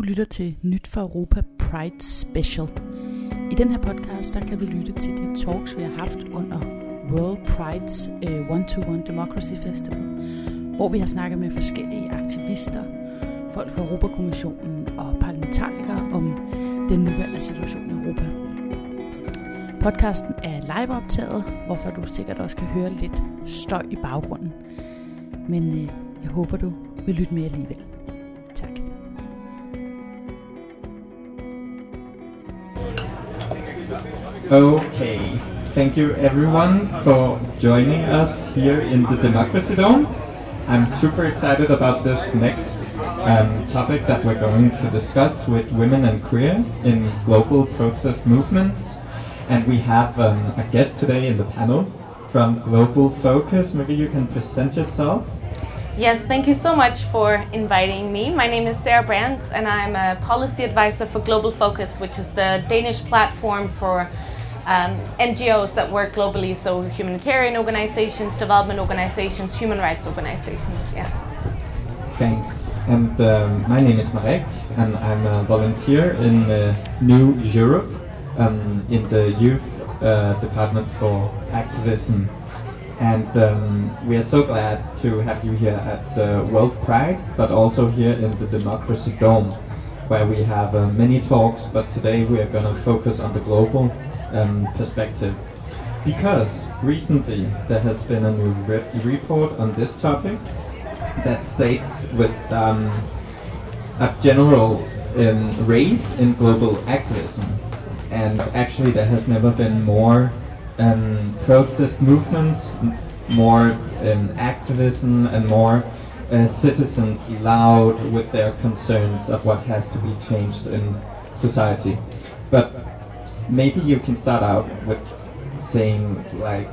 lytter til Nyt for Europa Pride Special. I den her podcast, der kan du lytte til de talks, vi har haft under World Pride's One-to-One Democracy Festival, hvor vi har snakket med forskellige aktivister, folk fra Europakommissionen og parlamentarikere om den nuværende situation i Europa. Podcasten er liveoptaget, hvorfor du sikkert også kan høre lidt støj i baggrunden. Men jeg håber, du vil lytte med alligevel. Tak. Okay, thank you everyone for joining us here in the Democracy Dome. I'm super excited about this next topic that we're going to discuss with women and queer in global protest movements. And we have a guest today in the panel from Global Focus. Maybe you can present yourself. Yes, thank you so much for inviting me. My name is Sarah Brandt and I'm a policy advisor for Global Focus, which is the Danish platform for NGOs that work globally, so humanitarian organizations, development organizations, human rights organizations. Yeah. Thanks. And my name is Marek and I'm a volunteer in New Europe in the youth department for activism. And we are so glad to have you here at the World Pride, but also here in the Democracy Dome, where we have many talks, but today we are going to focus on the global perspective. Because recently there has been a new report on this topic that states with a general race in global activism. And actually there has never been more protest movements, more activism and more citizens loud with their concerns of what has to be changed in society. But maybe you can start out with saying like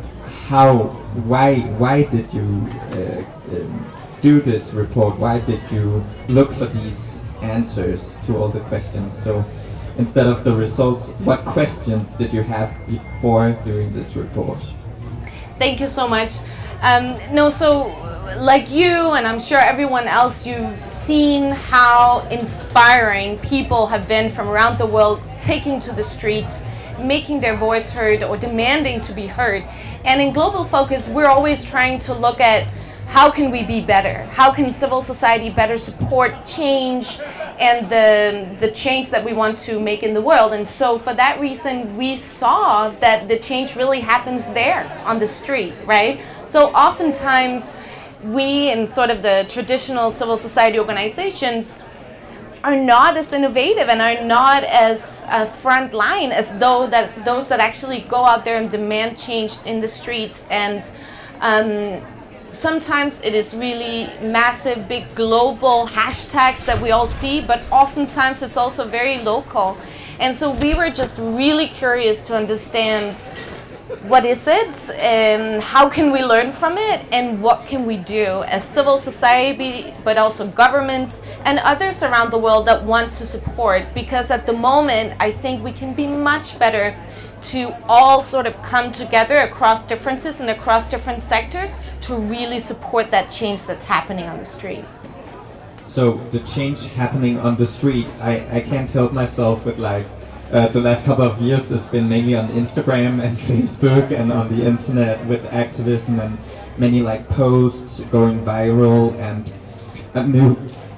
why did you do this report? Why did you look for these answers to all the questions? So instead of the results, what questions did you have before doing this report? Thank you so much. So like you, and I'm sure everyone else, you've seen how inspiring people have been from around the world taking to the streets, making their voice heard or demanding to be heard. And in Global Focus, we're always trying to look at how can we be better? How can civil society better support change and the change that we want to make in the world? And so for that reason, we saw that the change really happens there on the street, right? So oftentimes we in sort of the traditional civil society organizations are not as innovative and are not as front line as those that actually go out there and demand change in the streets. And sometimes it is really massive, big global hashtags that we all see, but oftentimes it's also very local. And so we were just really curious to understand what is it, how can we learn from it, and what can we do as civil society, but also governments and others around the world that want to support. Because at the moment, I think we can be much better to all sort of come together across differences and across different sectors to really support that change that's happening on the street. So the change happening on the street, I can't help myself with like the last couple of years has been mainly on Instagram and Facebook and on the internet with activism and many like posts going viral and a new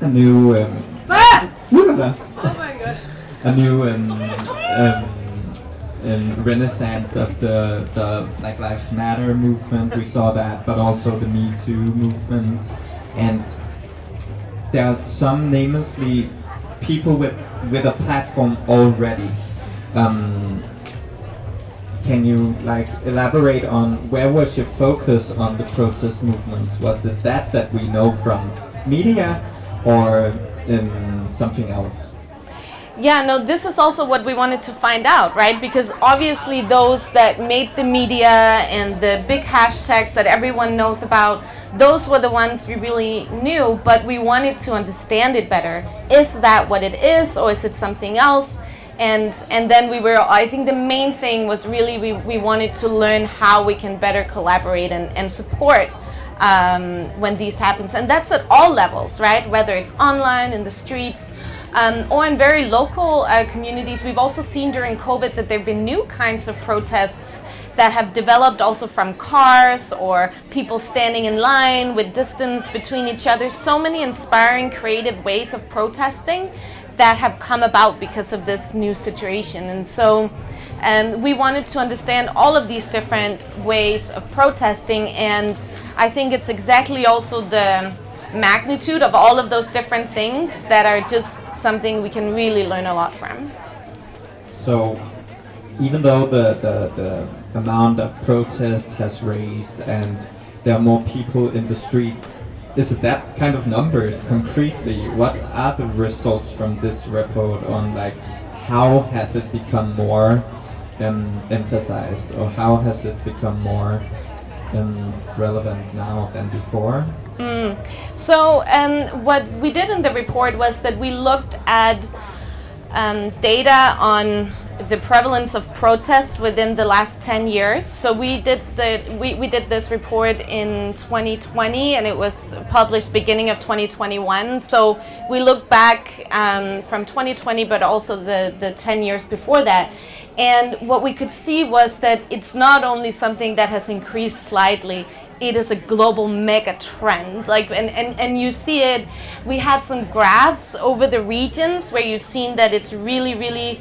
Oh my god. A new renaissance of the Black Lives Matter movement. We saw that, but also the Me Too movement. And there are some namelessly people with a platform already. Can you like elaborate on where was your focus on the protest movements? Was it that we know from media or something else? Yeah, no, this is also what we wanted to find out, right? Because obviously those that made the media and the big hashtags that everyone knows about, those were the ones we really knew, but we wanted to understand it better. Is that what it is, or is it something else? And then I think the main thing was really we wanted to learn how we can better collaborate and support when these happens. And that's at all levels, right? Whether it's online, in the streets, or in very local communities. We've also seen during COVID that there have been new kinds of protests that have developed also from cars or people standing in line with distance between each other. So many inspiring, creative ways of protesting that have come about because of this new situation. And so we wanted to understand all of these different ways of protesting, and I think it's exactly also the magnitude of all of those different things that are just something we can really learn a lot from. So even though the amount of protest has raised and there are more people in the streets, is it that kind of numbers concretely? What are the results from this report on, like, how has it become more emphasized, or how has it become more relevant now than before? So what we did in the report was that we looked at data on the prevalence of protests within the last 10 years. So we did this report in 2020, and it was published beginning of 2021. So we looked back from 2020, but also the 10 years before that. And what we could see was that it's not only something that has increased slightly, it is a global mega trend. Like, and you see it, we had some graphs over the regions where you've seen that it's really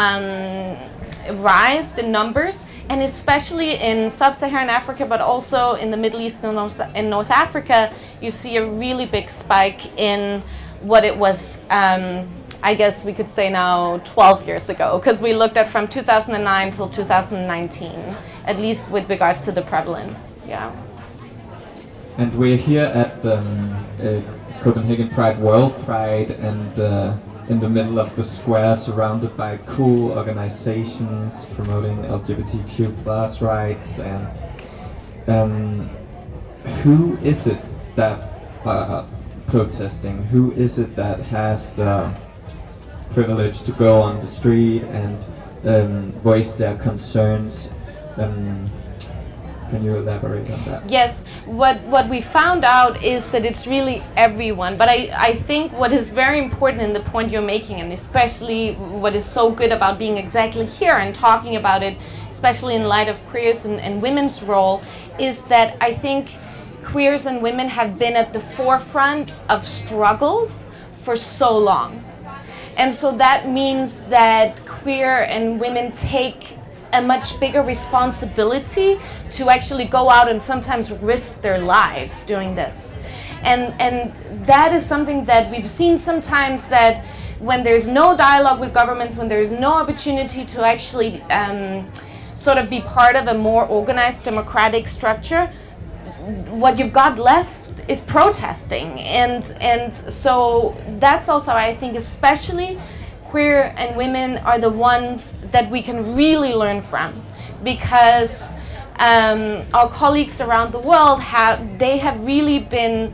rised in numbers, and especially in sub-Saharan Africa, but also in the Middle East and in North Africa, you see a really big spike in what it was, I guess we could say now 12 years ago, because we looked at from 2009 till 2019, at least with regards to the prevalence. Yeah. And we're here at Copenhagen Pride, World Pride, and in the middle of the square, surrounded by cool organizations promoting LGBTQ+ rights. And who is it that protesting? Who is it that has the privilege to go on the street and voice their concerns? Can you elaborate on that? Yes, what we found out is that it's really everyone. But I think what is very important in the point you're making, and especially what is so good about being exactly here and talking about it, especially in light of queers and women's role, is that I think queers and women have been at the forefront of struggles for so long. And so that means that queer and women take a much bigger responsibility to actually go out and sometimes risk their lives doing this. And that is something that we've seen sometimes, that when there's no dialogue with governments, when there's no opportunity to actually sort of be part of a more organized democratic structure, what you've got left is protesting. And so that's also, I think, especially queer and women are the ones that we can really learn from, because our colleagues around the world have really been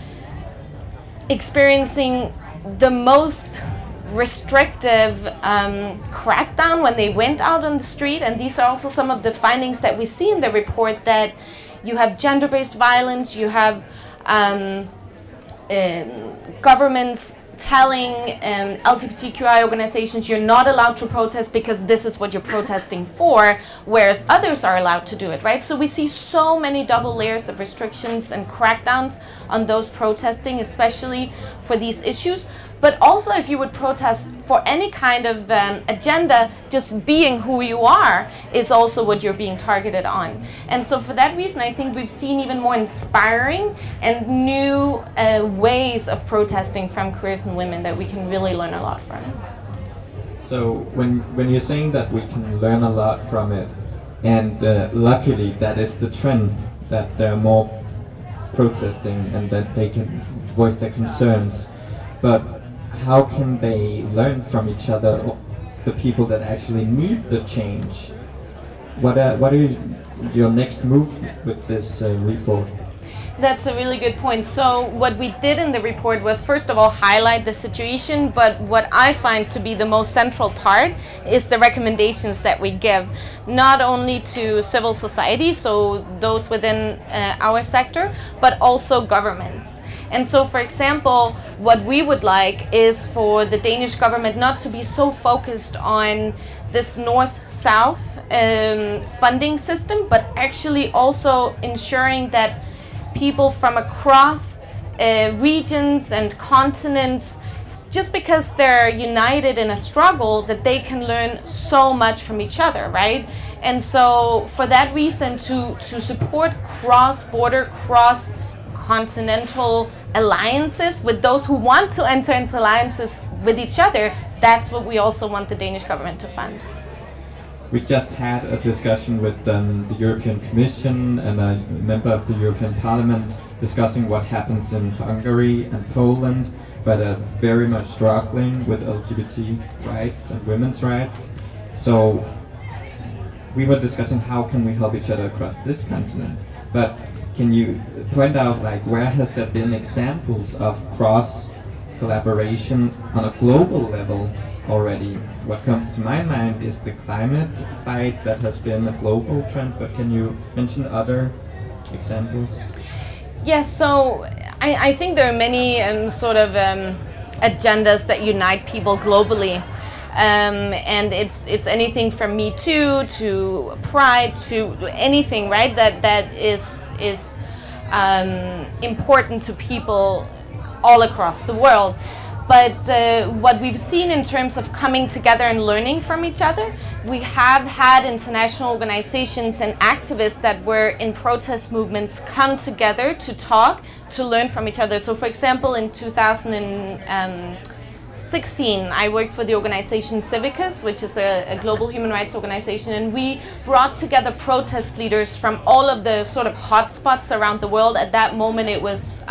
experiencing the most restrictive crackdown when they went out on the street. And these are also some of the findings that we see in the report, that you have gender-based violence, you have governments telling LGBTQI organizations you're not allowed to protest because this is what you're protesting for, whereas others are allowed to do it, right? So we see so many double layers of restrictions and crackdowns on those protesting, especially for these issues. But also, if you would protest for any kind of agenda, just being who you are is also what you're being targeted on. And so for that reason, I think we've seen even more inspiring and new ways of protesting from queers and women that we can really learn a lot from. So when you're saying that we can learn a lot from it, and luckily that is the trend, that there are more protesting and that they can voice their concerns, but how can they learn from each other, the people that actually need the change? What are your next move with this report? That's a really good point. So what we did in the report was, first of all, highlight the situation, but what I find to be the most central part is the recommendations that we give, not only to civil society, so those within our sector, but also governments. And so, for example, what we would like is for the Danish government not to be so focused on this north-south funding system, but actually also ensuring that people from across regions and continents, just because they're united in a struggle, that they can learn so much from each other, right? And so for that reason, to support cross-border, cross-continental alliances with those who want to enter into alliances with each other, that's what we also want the Danish government to fund. We just had a discussion with the European Commission and a member of the European Parliament discussing what happens in Hungary and Poland, where they're very much struggling with LGBT rights and women's rights. So we were discussing how can we help each other across this continent. But can you point out, like, where has there been examples of cross collaboration on a global level already? What comes to my mind is the climate fight that has been a global trend, but can you mention other examples? Yeah, so I think there are many agendas that unite people globally. And it's anything from Me Too to Pride to anything, right? That is important to people all across the world. But what we've seen in terms of coming together and learning from each other, we have had international organizations and activists that were in protest movements come together to talk, to learn from each other. So for example, in 2016, I worked for the organization Civicus, which is a global human rights organization, and we brought together protest leaders from all of the sort of hotspots around the world. At that moment it was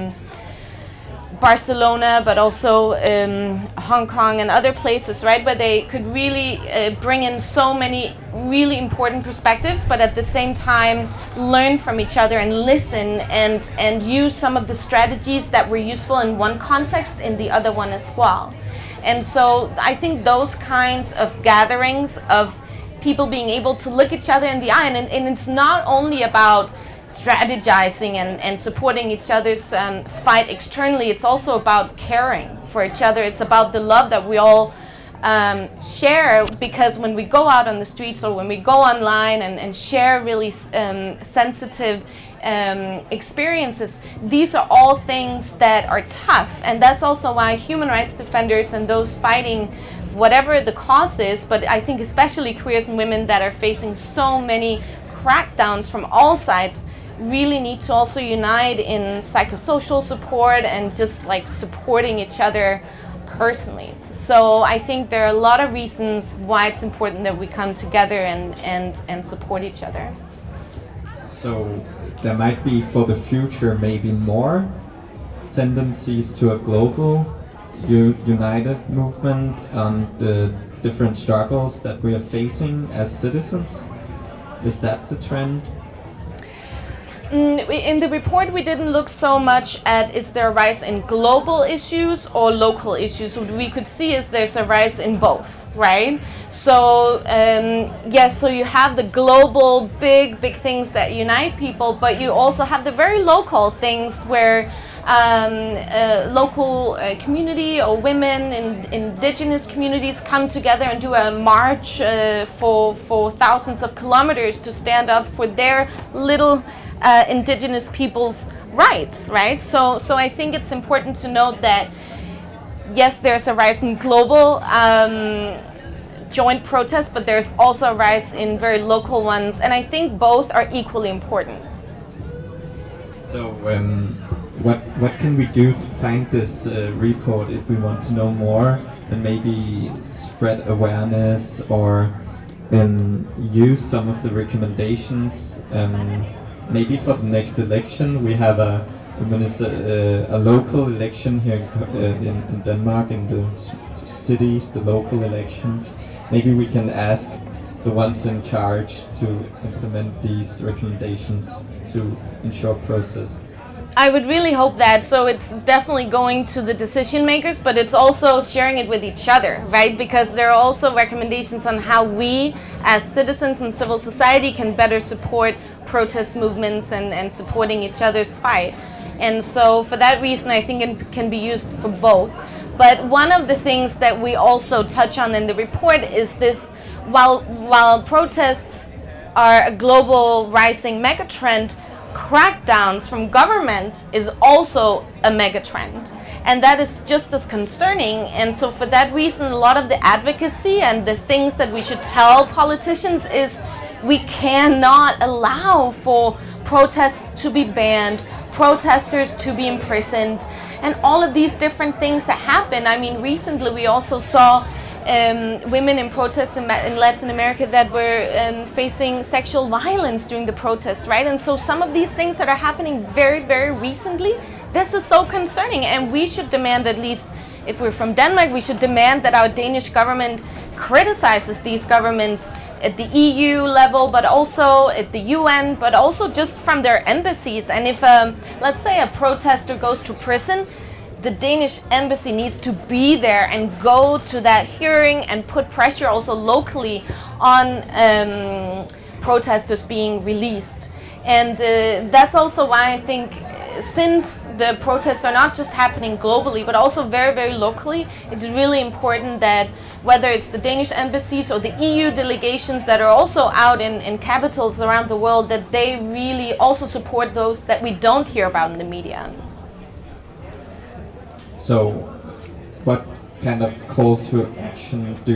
Barcelona, but also Hong Kong and other places, right, where they could really bring in so many really important perspectives, but at the same time learn from each other and listen and use some of the strategies that were useful in one context in the other one as well. And so I think those kinds of gatherings of people being able to look each other in the eye, and it's not only about strategizing and supporting each other's fight externally, it's also about caring for each other. It's about the love that we all share, because when we go out on the streets or when we go online and share really sensitive experiences, these are all things that are tough. And that's also why human rights defenders and those fighting whatever the cause is, but I think especially queers and women that are facing so many crackdowns from all sides, really need to also unite in psychosocial support and just like supporting each other personally. So I think there are a lot of reasons why it's important that we come together and support each other. So there might be for the future maybe more tendencies to a global united movement on the different struggles that we are facing as citizens. Is that the trend? In the report, we didn't look so much at is there a rise in global issues or local issues. What we could see is there's a rise in both, right? So so you have the global big things that unite people, but you also have the very local things where local community or women in indigenous communities come together and do a march for thousands of kilometers to stand up for their little indigenous people's rights, right? So I think it's important to note that yes, there's a rise in global joint protests, but there's also a rise in very local ones, and I think both are equally important. So what can we do to find this report if we want to know more and maybe spread awareness or use some of the recommendations? Maybe for the next election, we have a local election here in Denmark, in the cities, the local elections. Maybe we can ask the ones in charge to implement these recommendations to ensure protests. I would really hope that. So it's definitely going to the decision makers, but it's also sharing it with each other, right? Because there are also recommendations on how we as citizens and civil society can better support protest movements and supporting each other's fight. And so for that reason, I think it can be used for both. But one of the things that we also touch on in the report is this, while protests are a global rising megatrend, crackdowns from governments is also a megatrend. And that is just as concerning. And so for that reason, a lot of the advocacy and the things that we should tell politicians is we cannot allow for protests to be banned, protesters to be imprisoned, and all of these different things that happen. I mean, recently we also saw women in protests in Latin America that were facing sexual violence during the protests, right? And so some of these things that are happening very, very recently, this is so concerning, and we should demand, at least if we're from Denmark, we should demand that our Danish government criticizes these governments at the EU level, but also at the UN, but also just from their embassies. And if, let's say, a protester goes to prison, the Danish embassy needs to be there and go to that hearing and put pressure also locally on protesters being released. And that's also why I think, since the protests are not just happening globally, but also very, very locally, it's really important that whether it's the Danish embassies or the EU delegations that are also out in capitals around the world, that they really also support those that we don't hear about in the media. So, what kind of call to action are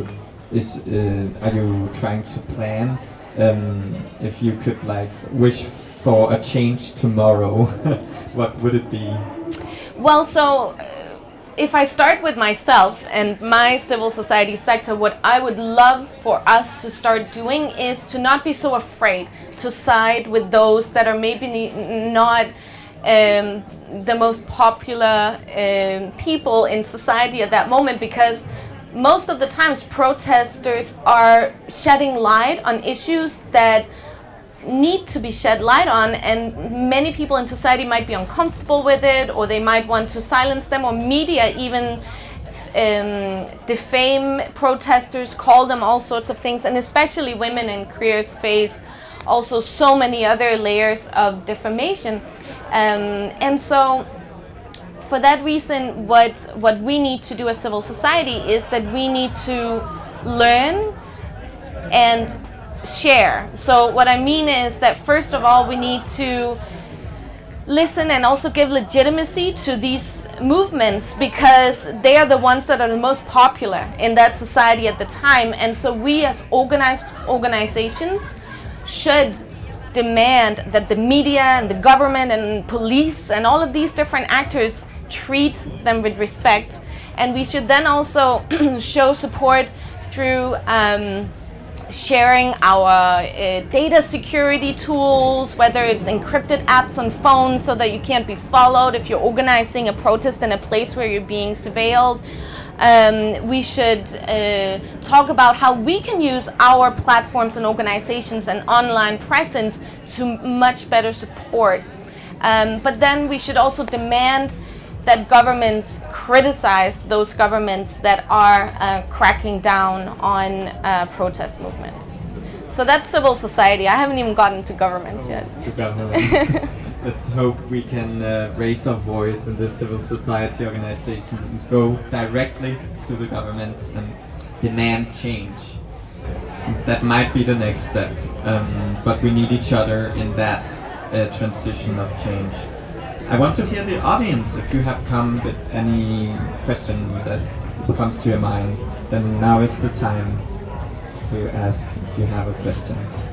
you trying to plan? If you could like wish for a change tomorrow, what would it be? Well, so if I start with myself and my civil society sector, what I would love for us to start doing is to not be so afraid to side with those that are maybe not the most popular people in society at that moment, because most of the times protesters are shedding light on issues that need to be shed light on, and many people in society might be uncomfortable with it, or they might want to silence them, or media even defame protesters, call them all sorts of things, and especially women and queers face also so many other layers of defamation. And so for that reason, what we need to do as civil society is that we need to learn and share. So what I mean is that first of all, we need to listen and also give legitimacy to these movements, because they are the ones that are the most popular in that society at the time. And so we as organized organizations should demand that the media and the government and police and all of these different actors treat them with respect. And we should then also show support through sharing our data security tools, whether it's encrypted apps on phones so that you can't be followed if you're organizing a protest in a place where you're being surveilled. We should talk about how we can use our platforms and organizations and online presence to much better support. But then we should also demand that governments criticize those governments that are cracking down on protest movements. So that's civil society. I haven't even gotten to governments yet. To governments. Let's hope we can raise our voice in the civil society organizations and go directly to the governments and demand change. That might be the next step, but we need each other in that transition of change. I want to hear the audience. If you have come with any question that comes to your mind, then now is the time to ask if you have a question.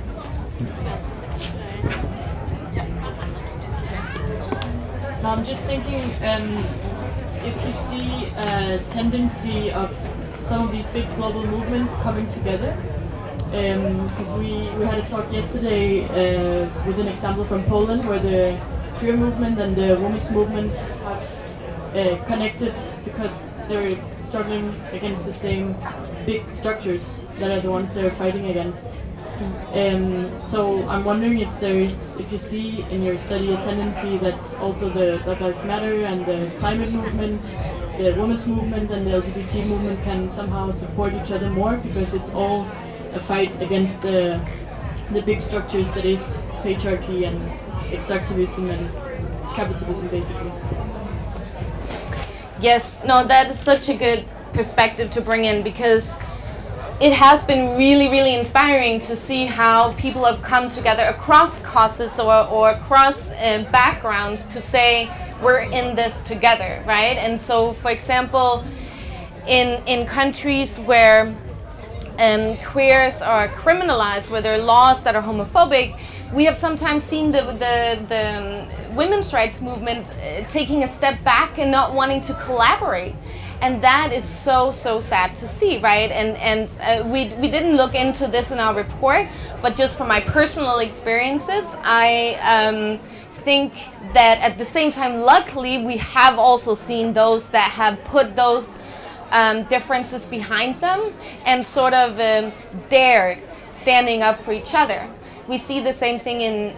I'm just thinking, if you see a tendency of some of these big global movements coming together, because we had a talk yesterday with an example from Poland where the queer movement and the women's movement have connected because they're struggling against the same big structures that are the ones they're fighting against. So I'm wondering if you see in your study a tendency that also the Black Lives Matter and the climate movement, the women's movement and the LGBT movement can somehow support each other more, because it's all a fight against the big structures that is patriarchy and extractivism and capitalism, basically. Yes, no, that is such a good perspective to bring in, because it has been really, really inspiring to see how people have come together across causes or across backgrounds to say we're in this together, right? And so, for example, in countries where queers are criminalized, where there are laws that are homophobic, we have sometimes seen the women's rights movement taking a step back and not wanting to collaborate. And that is so sad to see, right? And we didn't look into this in our report, but just from my personal experiences, I think that at the same time, luckily, we have also seen those that have put those differences behind them and sort of dared standing up for each other. We see the same thing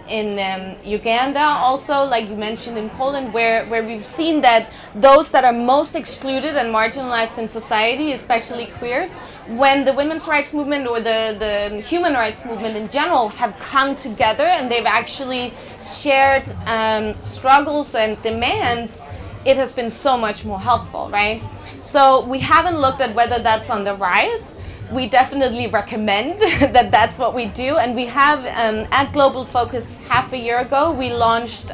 in Uganda also, like you mentioned, in Poland, where we've seen that those that are most excluded and marginalized in society, especially queers, when the women's rights movement or the human rights movement in general have come together and they've actually shared struggles and demands, it has been so much more helpful, right? So we haven't looked at whether that's on the rise. We definitely recommend that that's what we do, and we have at Global Focus half a year ago we launched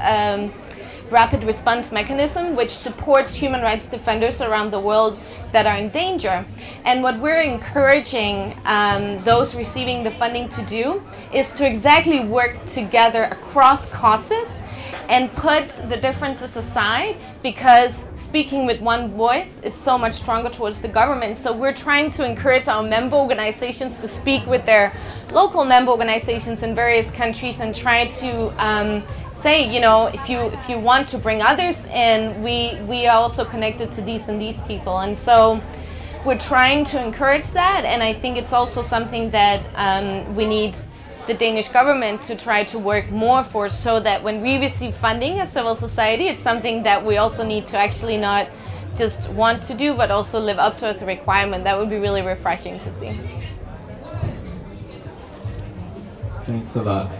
Rapid Response Mechanism, which supports human rights defenders around the world that are in danger. And what we're encouraging those receiving the funding to do is to exactly work together across causes and put the differences aside, because speaking with one voice is so much stronger towards the government. So we're trying to encourage our member organizations to speak with their local member organizations in various countries and try to say, you know, if you want to bring others in, we are also connected to these and these people. And so we're trying to encourage that, and I think it's also something that we need the Danish government to try to work more for, so that when we receive funding as civil society, it's something that we also need to actually not just want to do, but also live up to as a requirement. That would be really refreshing to see. Thanks a lot.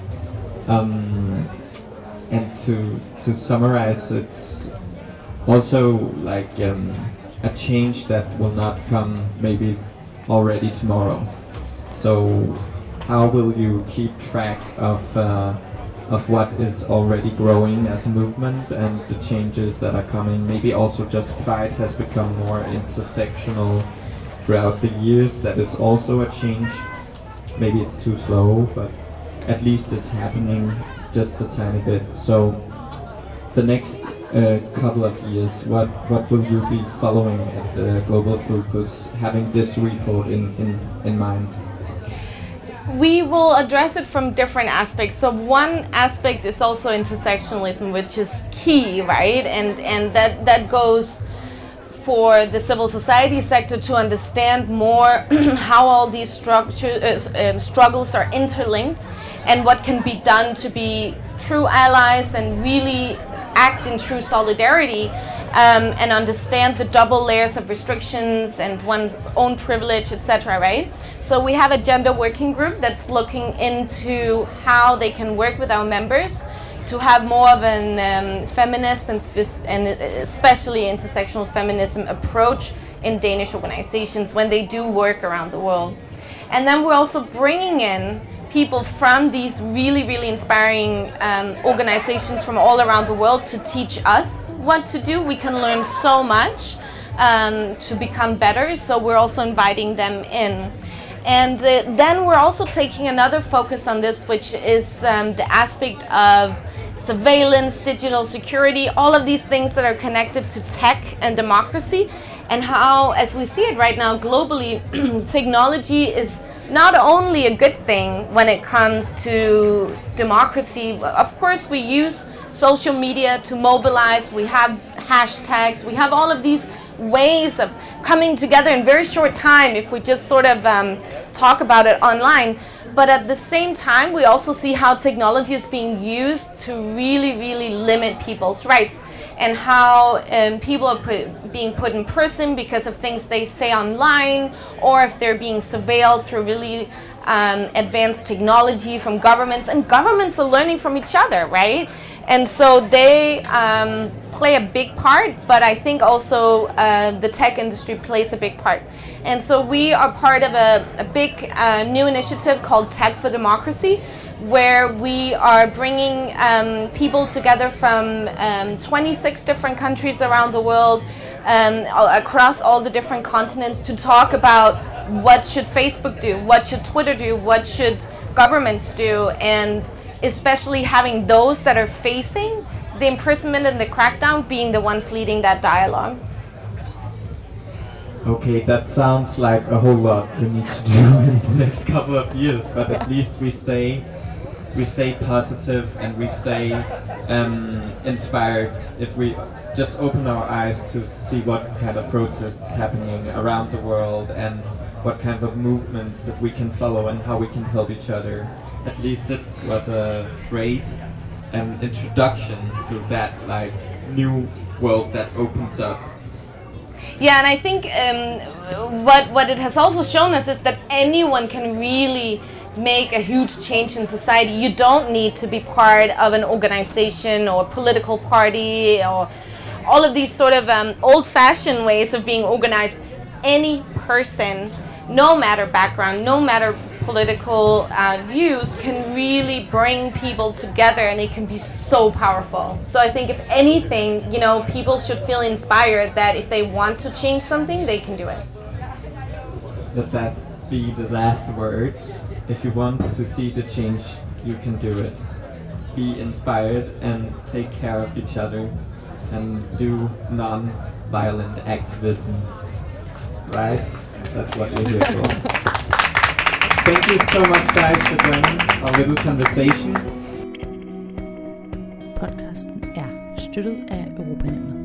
And to summarize, it's also like a change that will not come maybe already tomorrow. So how will you keep track of what is already growing as a movement and the changes that are coming? Maybe also just Pride has become more intersectional throughout the years. That is also a change. Maybe it's too slow, but at least it's happening just a tiny bit. So the next couple of years, what will you be following at Global Focus, having this report in mind? We will address it from different aspects. So one aspect is also intersectionalism, which is key, right? And that goes for the civil society sector to understand more how all these struggles are interlinked and what can be done to be true allies and really act in true solidarity, and understand the double layers of restrictions and one's own privilege, etc., right? So we have a gender working group that's looking into how they can work with our members to have more of an feminist and especially intersectional feminism approach in Danish organizations when they do work around the world. And then we're also bringing in people from these really, really inspiring organizations from all around the world to teach us what to do. We can learn so much to become better, so we're also inviting them in. And then we're also taking another focus on this, which is the aspect of surveillance, digital security, all of these things that are connected to tech and democracy, and how, as we see it right now globally, technology is not only a good thing when it comes to democracy. Of course, we use social media to mobilize, we have hashtags, we have all of these ways of coming together in very short time if we just sort of talk about it online. But at the same time, we also see how technology is being used to really, really limit people's rights. and how people are being put in prison because of things they say online, or if they're being surveilled through really advanced technology from governments, and governments are learning from each other, right? And so they play a big part, but I think also the tech industry plays a big part. And so we are part of a big new initiative called Tech for Democracy, where we are bringing people together from 26 different countries around the world, across all the different continents, to talk about what should Facebook do, what should Twitter do, what should governments do, and especially having those that are facing the imprisonment and the crackdown being the ones leading that dialogue. Okay, that sounds like a whole lot we need to do in the next couple of years, but at least we stay positive and we stay inspired if we just open our eyes to see what kind of protests happening around the world and what kind of movements that we can follow and how we can help each other. At least this was a great introduction to that like new world that opens up. Yeah, and I think what it has also shown us is that anyone can really make a huge change in society. You don't need to be part of an organization or a political party or all of these sort of old-fashioned ways of being organized. Any person, no matter background, no matter political views, can really bring people together, and it can be so powerful. So I think if anything, you know, people should feel inspired that if they want to change something, they can do it. Let that be the last words. If you want to see the change, you can do it. Be inspired and take care of each other and do non-violent activism. Right? That's what we're here for. Thank you so much, guys, for joining our little conversation. Podcasten er støttet af Europanævnet.